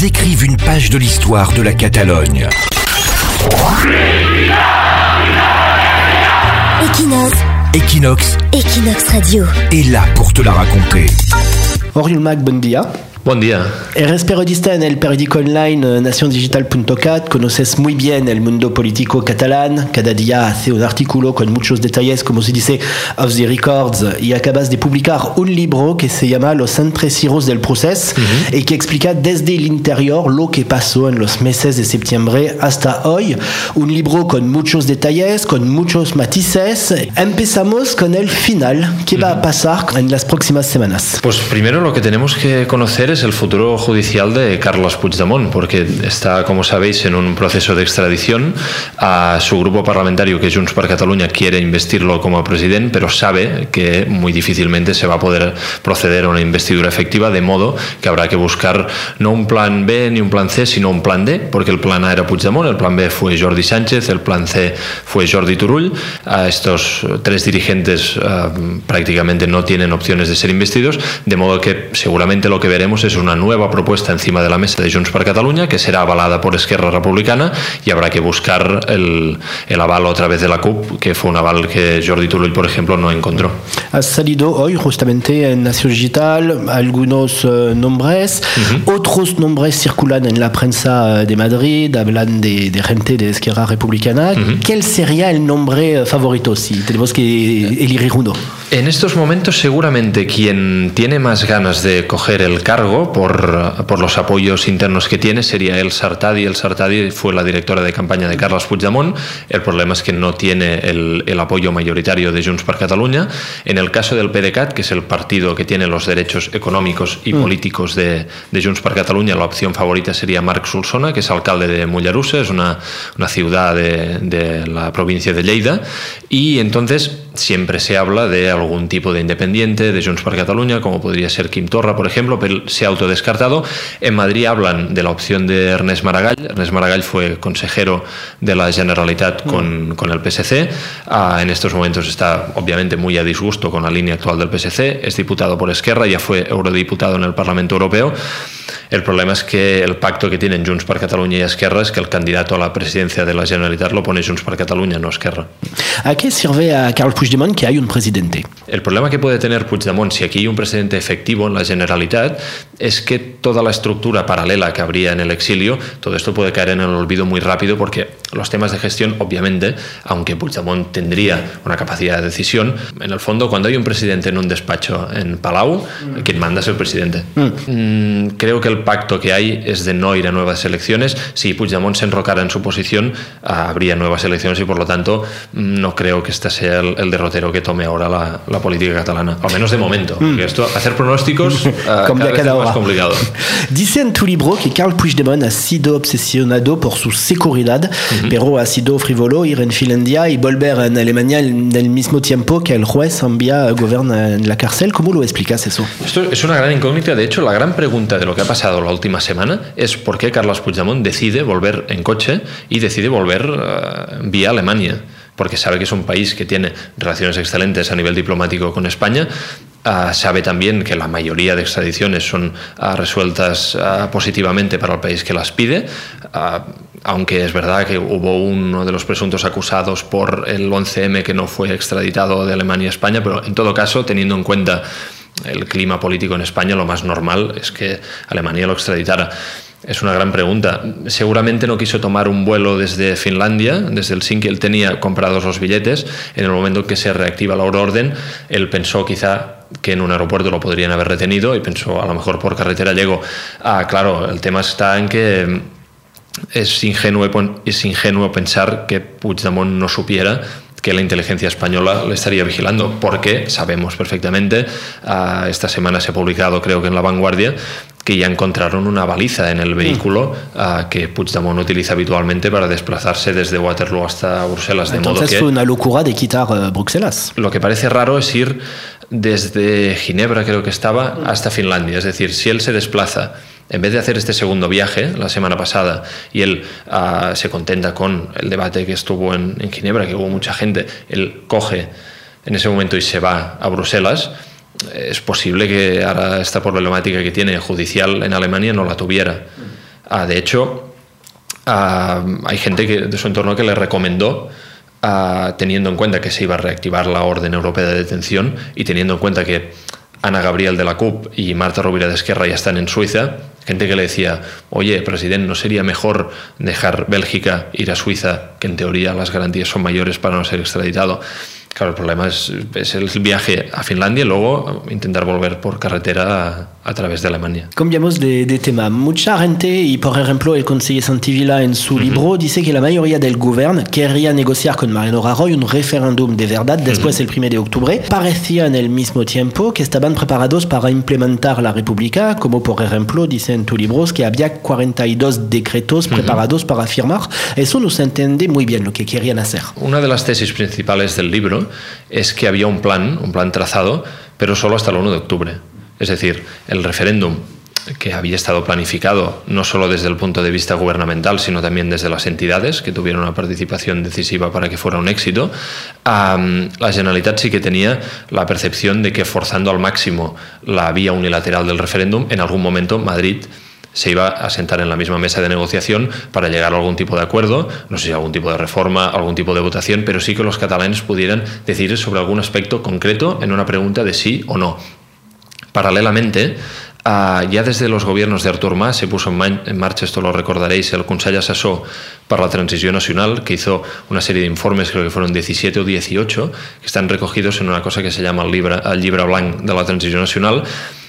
ils écrivent une page de l'histoire de la Catalogne. Equinox Radio est là pour te la raconter. Oriol Mac, bon dia. Buen día. Eres periodista en el periódico online naciondigital.cat, conoces muy bien el mundo político catalán, cada día hace un artículo con muchos detalles, como se dice, off the records, y acabas de publicar un libro que se llama Los entresijos del procés y que explica desde el interior lo que pasó en los meses de septiembre hasta hoy. Un libro con muchos detalles, con muchos matices. Empezamos con el final. ¿Qué va a pasar en las próximas semanas? Pues primero lo que tenemos que conocer es el futuro judicial de Carles Puigdemont, porque está, como sabéis, en un proceso de extradición. A su grupo parlamentario, que Junts per Catalunya, quiere investirlo como presidente, pero sabe que muy difícilmente se va a poder proceder a una investidura efectiva, de modo que habrá que buscar no un plan B ni un plan C, sino un plan D, porque el plan A era Puigdemont, el plan B fue Jordi Sánchez, el plan C fue Jordi Turull. Estos tres dirigentes prácticamente no tienen opciones de ser investidos, de modo que seguramente lo que veremos es una nueva propuesta encima de la mesa de Junts per Catalunya, que será avalada por Esquerra Republicana, y habrá que buscar el aval otra vez de la CUP, que fue un aval que Jordi Turull, por ejemplo, no encontró. Ha salido hoy justamente en Nación Digital algunos nombres, otros nombres circulan en la prensa de Madrid, hablan de gente de Esquerra Republicana. ¿Cuál sería el nombre favorito si tenemos que elegir uno? En estos momentos seguramente quien tiene más ganas de coger el cargo por los apoyos internos que tiene sería Elsa Artadi. Elsa Artadi fue la directora de campaña de Carles Puigdemont. El problema es que no tiene el apoyo mayoritario de Junts per Catalunya. En el caso del PDeCAT, que es el partido que tiene los derechos económicos y políticos de Junts per Catalunya, la opción favorita sería Marc Solsona, que es alcalde de Mollerussa, es una ciudad de la provincia de Lleida, y entonces siempre se habla de algún tipo de independiente de Junts per Catalunya, como podría ser Quim Torra, por ejemplo, pero se ha autodescartado. En Madrid hablan de la opción de Ernest Maragall. Ernest Maragall fue consejero de la Generalitat con el PSC. En estos momentos está obviamente muy a disgusto con la línea actual del PSC. Es diputado por Esquerra, ya fue eurodiputado en el Parlamento Europeo. El problema es que el pacto que tienen Junts per Catalunya y Esquerra es que el candidato a la presidencia de la Generalitat lo pone Junts per Catalunya, no Esquerra. ¿A qué sirve a Carles Puigdemont que hay un presidente? El problema que puede tener Puigdemont, si aquí hay un presidente efectivo en la Generalitat, es que toda la estructura paralela que habría en el exilio, todo esto puede caer en el olvido muy rápido, porque los temas de gestión, obviamente, aunque Puigdemont tendría una capacidad de decisión, en el fondo, cuando hay un presidente en un despacho en Palau, quien manda es el presidente. Creo que el pacto que hay es de no ir a nuevas elecciones. Si Puigdemont se enrocara en su posición, habría nuevas elecciones, y por lo tanto no creo que este sea el derrotero que tome ahora la política catalana, al menos de momento, porque esto, hacer pronósticos cada vez es más complicado. Dice en tu libro que Carles Puigdemont ha sido obsesionado por su seguridad, pero ha sido frívolo ir en Finlandia y volver en Alemania en el mismo tiempo que el juez envía a gobernar en la cárcel. ¿Cómo lo explicas eso? Esto es una gran incógnita. De hecho, la gran pregunta de lo que ha pasado la última semana es por qué Carles Puigdemont decide volver en coche y decide volver vía Alemania, porque sabe que es un país que tiene relaciones excelentes a nivel diplomático con España. Sabe también que la mayoría de extradiciones son resueltas positivamente para el país que las pide, aunque es verdad que hubo uno de los presuntos acusados por el 11M que no fue extraditado de Alemania a España, pero en todo caso, teniendo en cuenta el clima político en España, lo más normal es que Alemania lo extraditara. Es una gran pregunta. Seguramente no quiso tomar un vuelo desde Finlandia, desde Helsinki. Él tenía comprados los billetes. En el momento en que se reactiva la euroorden, él pensó quizá que en un aeropuerto lo podrían haber retenido y pensó, a lo mejor por carretera llego. Claro, el tema está en que es ingenuo pensar que Puigdemont no supiera que la inteligencia española le estaría vigilando, porque sabemos perfectamente, esta semana se ha publicado, creo que en La Vanguardia, que ya encontraron una baliza en el vehículo que Puigdemont utiliza habitualmente para desplazarse desde Waterloo hasta Bruselas. De Entonces modo que fue una locura de quitar Bruselas. Lo que parece raro es ir desde Ginebra, creo que estaba, hasta Finlandia. Es decir, si él se desplaza, en vez de hacer este segundo viaje la semana pasada, y él se contenta con el debate que estuvo en Ginebra, que hubo mucha gente, él coge en ese momento y se va a Bruselas, es posible que ahora esta problemática que tiene judicial en Alemania no la tuviera. De hecho, hay gente de su entorno que le recomendó, teniendo en cuenta que se iba a reactivar la Orden Europea de Detención y teniendo en cuenta que Ana Gabriel de la CUP y Marta Rovira de Esquerra ya están en Suiza, gente que le decía, oye, presidente, ¿no sería mejor dejar Bélgica, ir a Suiza, que en teoría las garantías son mayores para no ser extraditado? Claro, el problema es el viaje a Finlandia y luego intentar volver por carretera a través de Alemania. Cambiamos de tema. Mucha gente, y por ejemplo el conseller Santivila en su libro, dice que la mayoría del gobierno querría negociar con Mariano Rajoy un referéndum de verdad después del 1 de octubre. Parecía en el mismo tiempo que estaban preparados para implementar la República, como por ejemplo, dice en tu libro, que había 42 decretos preparados para firmar. Eso no se entiende muy bien lo que querían hacer. Una de las tesis principales del libro es que había un plan trazado, pero solo hasta el 1 de octubre. Es decir, el referéndum que había estado planificado no solo desde el punto de vista gubernamental, sino también desde las entidades que tuvieron una participación decisiva para que fuera un éxito, la Generalitat sí que tenía la percepción de que forzando al máximo la vía unilateral del referéndum, en algún momento Madrid se iba a sentar en la misma mesa de negociación para llegar a algún tipo de acuerdo, no sé si algún tipo de reforma, algún tipo de votación, pero sí que los catalanes pudieran decidir sobre algún aspecto concreto en una pregunta de sí o no. Paralelamente, ya desde los gobiernos de Artur Mas se puso en marcha, esto lo recordaréis, el Consell Assessor para la Transición Nacional, que hizo una serie de informes, creo que fueron 17 o 18, que están recogidos en una cosa que se llama el Llibre Blanc de la Transición Nacional,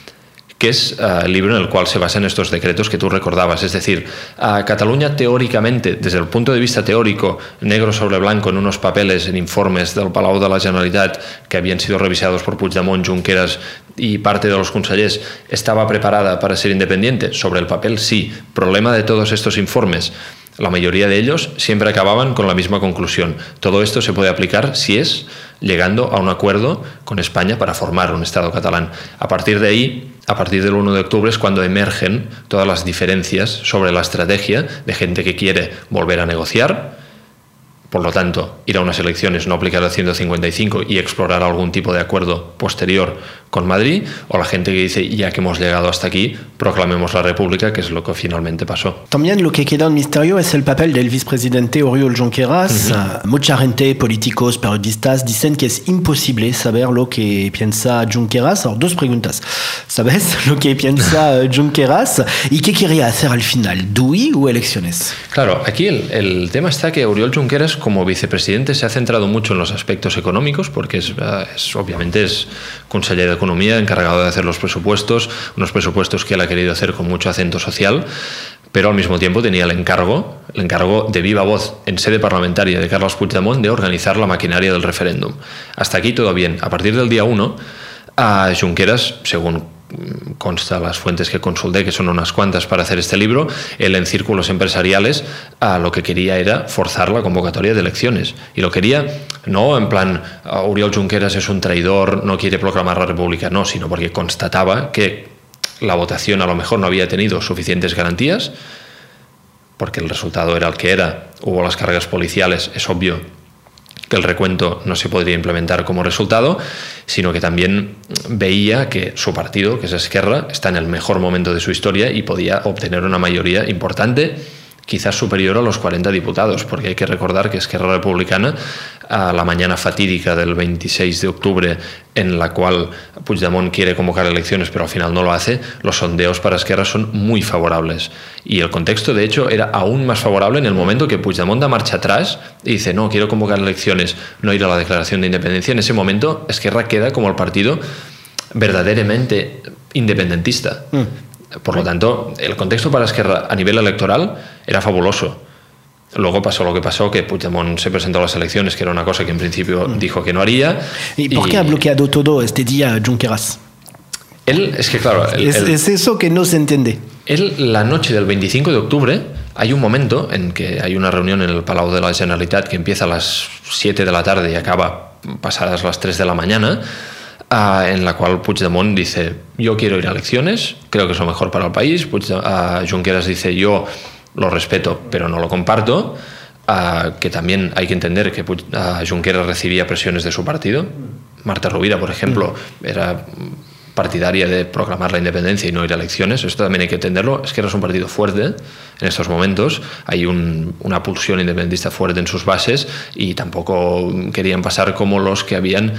que es el libro en el cual se basan estos decretos que tú recordabas. Es decir, Cataluña teóricamente, desde el punto de vista teórico, negro sobre blanco en unos papeles, en informes del Palau de la Generalitat que habían sido revisados por Puigdemont, Junqueras y parte de los consellers, estaba preparada para ser independiente. Sobre el papel sí. Problema de todos estos informes, la mayoría de ellos siempre acababan con la misma conclusión. Todo esto se puede aplicar si es llegando a un acuerdo con España para formar un Estado catalán. A partir de ahí, a partir del 1 de octubre es cuando emergen todas las diferencias sobre la estrategia de gente que quiere volver a negociar, por lo tanto, ir a unas elecciones, no aplicar el 155 y explorar algún tipo de acuerdo posterior con Madrid, o la gente que dice, ya que hemos llegado hasta aquí, proclamemos la República, que es lo que finalmente pasó. También lo que queda en misterio es el papel del vicepresidente Oriol Junqueras. Mucha gente, políticos, periodistas, dicen que es imposible saber lo que piensa Junqueras. Ahora, dos preguntas. ¿Sabes lo que piensa Junqueras? ¿Y qué quería hacer al final? ¿DUI o elecciones? Claro, aquí el tema está que Oriol Junqueras, como vicepresidente, se ha centrado mucho en los aspectos económicos, porque obviamente es conseller de Economía, encargado de hacer los presupuestos, unos presupuestos que él ha querido hacer con mucho acento social, pero al mismo tiempo tenía el encargo de viva voz en sede parlamentaria de Carles Puigdemont de organizar la maquinaria del referéndum. Hasta aquí todo bien. A partir del día 1, Junqueras, según consta las fuentes que consulté, que son unas cuantas para hacer este libro, él en círculos empresariales lo que quería era forzar la convocatoria de elecciones. Y lo quería no en plan, Oriol Junqueras es un traidor, no quiere proclamar la República, no, sino porque constataba que la votación a lo mejor no había tenido suficientes garantías, porque el resultado era el que era, hubo las cargas policiales, es obvio que el recuento no se podría implementar como resultado, sino que también veía que su partido, que es Esquerra, está en el mejor momento de su historia y podía obtener una mayoría importante, quizás superior a los 40 diputados, porque hay que recordar que Esquerra Republicana, a la mañana fatídica del 26 de octubre, en la cual Puigdemont quiere convocar elecciones pero al final no lo hace, los sondeos para Esquerra son muy favorables. Y el contexto, de hecho, era aún más favorable en el momento que Puigdemont da marcha atrás y dice, no, quiero convocar elecciones, no ir a la declaración de independencia. En ese momento, Esquerra queda como el partido verdaderamente independentista. Por lo tanto, el contexto para Esquerra a nivel electoral era fabuloso. Luego pasó lo que pasó, que Puigdemont se presentó a las elecciones, que era una cosa que en principio dijo que no haría. ¿Y por qué ha bloqueado todo este día Junqueras? Él, es que claro... Es eso que no se entiende. Él, la noche del 25 de octubre, hay un momento en que hay una reunión en el Palau de la Generalitat que empieza a las 7 de la tarde y acaba pasadas las 3 de la mañana, en la cual Puigdemont dice, yo quiero ir a elecciones, creo que es lo mejor para el país. Junqueras dice, yo lo respeto, pero no lo comparto, que también hay que entender que Junqueras recibía presiones de su partido. Marta Rovira, por ejemplo, era partidaria de proclamar la independencia y no ir a elecciones. Esto también hay que entenderlo. Esquerra es un partido fuerte en estos momentos. Hay una pulsión independentista fuerte en sus bases y tampoco querían pasar como los que habían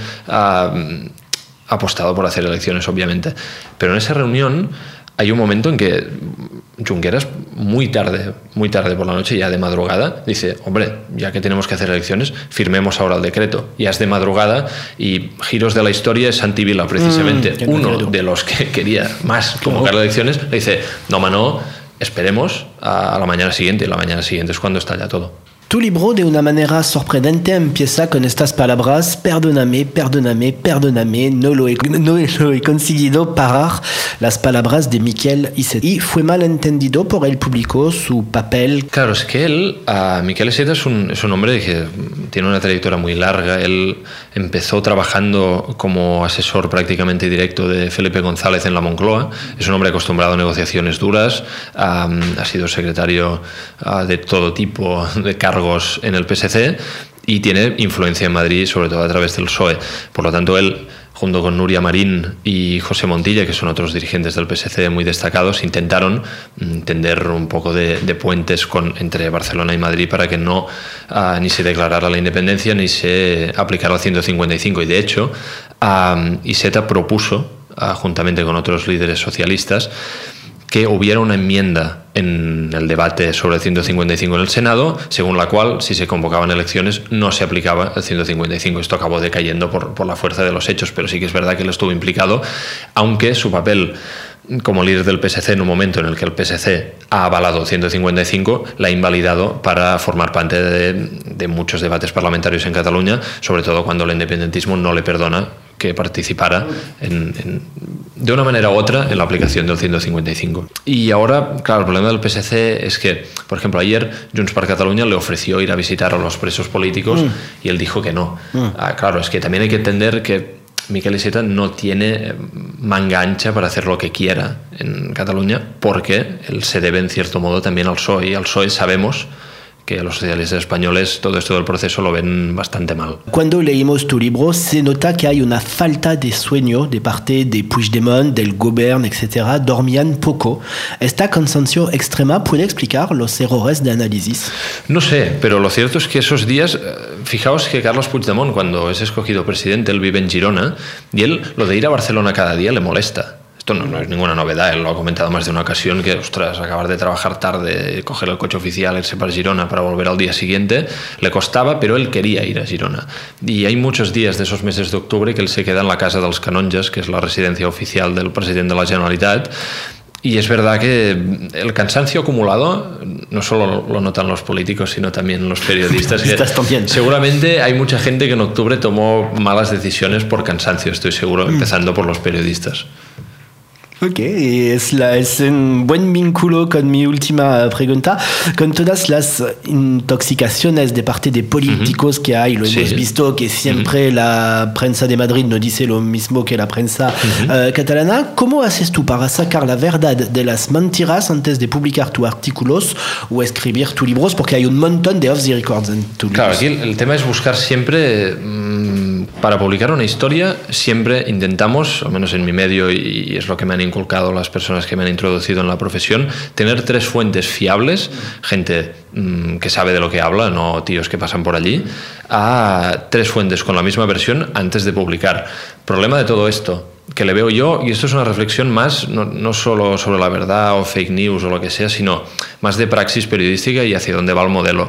apostado por hacer elecciones, obviamente. Pero en esa reunión hay un momento en que Junqueras, muy tarde por la noche, ya de madrugada, dice: hombre, ya que tenemos que hacer elecciones, firmemos ahora el decreto. Ya es de madrugada y giros de la historia es Santi Vila, precisamente, uno de los que quería más convocar elecciones, le dice: no, esperemos a la mañana siguiente, y la mañana siguiente es cuando estalla todo. Tu libro, de una manera sorprendente, empieza con estas palabras: perdóname, no lo he conseguido parar, las palabras de Miquel Iceta. Y fue mal entendido por el público su papel. Claro, es que él, Miquel Iceta es un hombre que tiene una trayectoria muy larga. Él empezó trabajando como asesor prácticamente directo de Felipe González en la Moncloa. Es un hombre acostumbrado a negociaciones duras, ha sido secretario de todo tipo de cargos en el PSC y tiene influencia en Madrid, sobre todo a través del PSOE. Por lo tanto, él, junto con Núria Marín y José Montilla, que son otros dirigentes del PSC muy destacados, intentaron tender un poco de puentes entre Barcelona y Madrid para que no ni se declarara la independencia ni se aplicara el 155. Y de hecho, Iceta propuso, juntamente con otros líderes socialistas, que hubiera una enmienda en el debate sobre el 155 en el Senado, según la cual, si se convocaban elecciones, no se aplicaba el 155. Esto acabó decayendo por la fuerza de los hechos, pero sí que es verdad que él estuvo implicado, aunque su papel como líder del PSC, en un momento en el que el PSC ha avalado el 155, la ha invalidado para formar parte de muchos debates parlamentarios en Cataluña, sobre todo cuando el independentismo no le perdona que participara de una manera u otra en la aplicación del 155. Y ahora, claro, el problema del PSC es que, por ejemplo, ayer Junts per Catalunya le ofreció ir a visitar a los presos políticos y él dijo que no. Claro, es que también hay que entender que Miquel Iceta no tiene manga ancha para hacer lo que quiera en Cataluña, porque él se debe en cierto modo también al PSOE, y al PSOE sabemos que los socialistas españoles todo esto del proceso lo ven bastante mal. Cuando leímos tu libro se nota que hay una falta de sueño de parte de Puigdemont, del gobierno, etc. Dormían poco. ¿Esta cansancio extrema puede explicar los errores de análisis? No sé, pero lo cierto es que esos días, fijaos que Carles Puigdemont, cuando es escogido presidente, él vive en Girona, y él lo de ir a Barcelona cada día le molesta. Esto no es ninguna novedad, él lo ha comentado más de una ocasión, que, ostras, acabar de trabajar tarde, coger el coche oficial, irse para Girona para volver al día siguiente, le costaba, pero él quería ir a Girona. Y hay muchos días de esos meses de octubre que él se queda en la casa dels Canonges, que es la residencia oficial del presidente de la Generalitat, y es verdad que el cansancio acumulado no solo lo notan los políticos, sino también los periodistas. Seguramente hay mucha gente que en octubre tomó malas decisiones por cansancio, estoy seguro, empezando por los periodistas. Ok, es un buen vínculo con mi última pregunta. Con todas las intoxicaciones de parte de políticos que hay, lo hemos visto que siempre la prensa de Madrid no dice lo mismo que la prensa catalana. ¿Cómo haces tú para sacar la verdad de las mentiras antes de publicar tus artículos o escribir tus libros? Porque hay un montón de off the records en tus libros. Claro, aquí el tema es buscar siempre, para publicar una historia, siempre intentamos, al menos en mi medio, y es lo que me han inculcado las personas que me han introducido en la profesión, tener 3 fuentes fiables, gente que sabe de lo que habla, no tíos que pasan por allí, a 3 fuentes con la misma versión antes de publicar. Problema de todo esto que le veo yo, y esto es una reflexión más, no solo sobre la verdad o fake news o lo que sea, sino más de praxis periodística y hacia dónde va el modelo.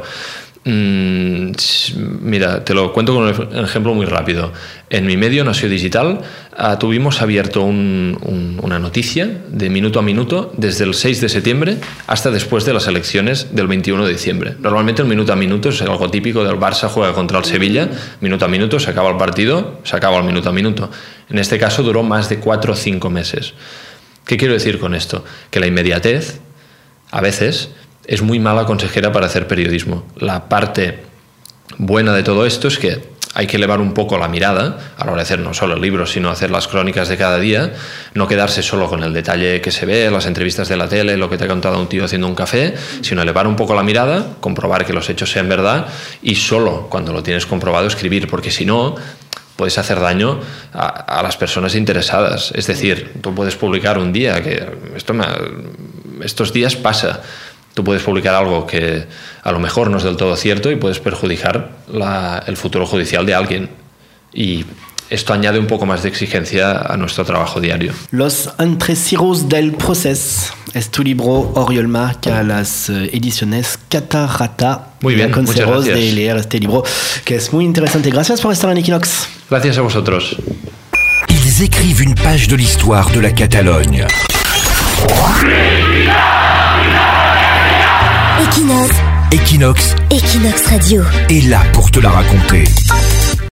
Mira, te lo cuento con un ejemplo muy rápido. En mi medio, Nació Digital, tuvimos abierto una noticia de minuto a minuto desde el 6 de septiembre hasta después de las elecciones del 21 de diciembre. Normalmente el minuto a minuto es algo típico del Barça juega contra el Sevilla, minuto a minuto, se acaba el partido, se acaba el minuto a minuto. En este caso duró más de 4 o 5 meses. ¿Qué quiero decir con esto? Que la inmediatez, a veces, es muy mala consejera para hacer periodismo. La parte buena de todo esto es que hay que elevar un poco la mirada a la hora de hacer no solo el libro, sino hacer las crónicas de cada día, no quedarse solo con el detalle que se ve, las entrevistas de la tele, lo que te ha contado un tío haciendo un café, sino elevar un poco la mirada, comprobar que los hechos sean verdad y solo cuando lo tienes comprobado escribir, porque si no, puedes hacer daño a las personas interesadas. Es decir, tú puedes publicar un día, que estos días pasa, tú puedes publicar algo que a lo mejor no es del todo cierto y puedes perjudicar el futuro judicial de alguien. Y esto añade un poco más de exigencia a nuestro trabajo diario. Los entresiros del proceso es tu libro, Oriol Marc, a las ediciones Catarata. Muy bien, muchas gracias. De leer este libro, que es muy interesante. Gracias por estar en Equinox. Gracias a vosotros. Ils écrivent une page de l'histoire de la Catalogne. Equinox. Equinox Equinox Radio est là pour te la raconter.